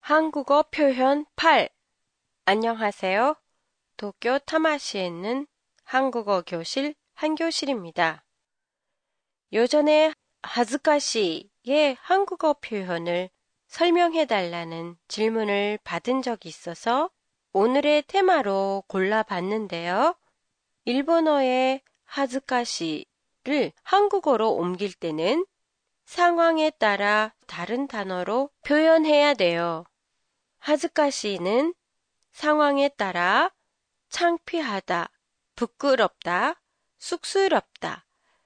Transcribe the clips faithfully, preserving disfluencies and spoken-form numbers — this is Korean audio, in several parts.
한국어 표현 팔. 안녕하세요. 도쿄 타마시에 있는 한국어 교실 한교실입니다. 요전에 하즈카시의 한국어 표현을 설명해 달라는 질문을 받은 적이 있어서 오늘의 테마로 골라봤는데요. 일본어의 하즈카시를 한국어로 옮길 때는 상황에 따라 다른 단어로 표현해야 돼요. 하즈카시는 상황에 따라 창피하다, 부끄럽다, 쑥스럽다,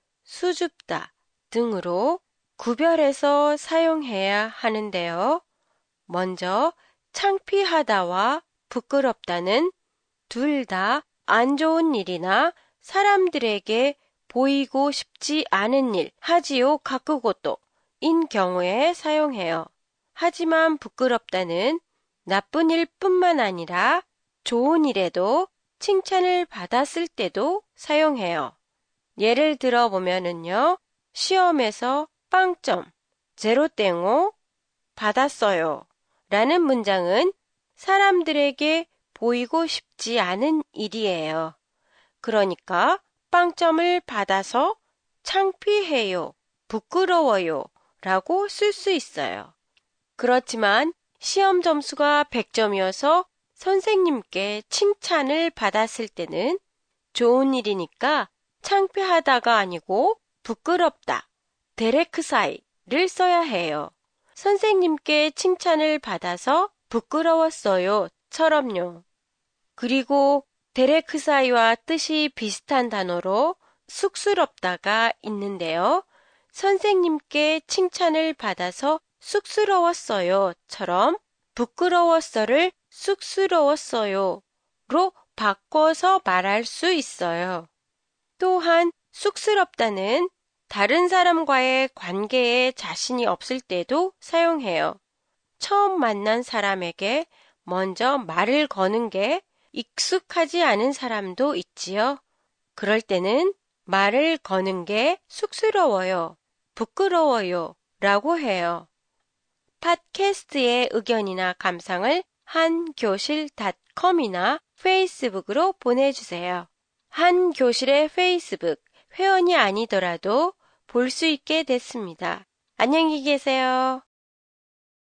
수줍다 등으로 구별해서 사용해야 하는데요. 먼저 창피하다와 부끄럽다는 둘 다 안 좋은 일이나 사람들에게 보이고 싶지 않은 일, 하지요 가쿠고토 인 경우에 사용해요. 하지만 부끄럽다는 나쁜 일뿐만 아니라 좋은 일에도 칭찬을 받았을 때도 사용해요. 예를 들어 보면은요. 시험에서 빵점, 제로땡오 받았어요 라는 문장은 사람들에게 보이고 싶지 않은 일이에요. 그러니까 빵점을 받아서 창피해요, 부끄러워요 라고 쓸 수 있어요. 그렇지만 시험 점수가 백 점이어서 선생님께 칭찬을 받았을 때는 좋은 일이니까 창피하다가 아니고 부끄럽다, 데레크사이를 써야 해요. 선생님께 칭찬을 받아서 부끄러웠어요 처럼요. 그리고 데레크사이와 뜻이 비슷한 단어로 쑥스럽다가 있는데요. 선생님께 칭찬을 받아서 쑥스러웠어요 처럼 부끄러웠어를 쑥스러웠어요로 바꿔서 말할 수 있어요. 또한 쑥스럽다는 다른 사람과의 관계에 자신이 없을 때도 사용해요. 처음 만난 사람에게 먼저 말을 거는 게 익숙하지 않은 사람도 있지요. 그럴 때는 말을 거는 게 쑥스러워요, 부끄러워요 라고 해요. 팟캐스트의 의견이나 감상을 한교실 닷컴이나 페이스북으로 보내주세요. 한교실의 페이스북 회원이 아니더라도 볼 수 있게 됐습니다. 안녕히 계세요.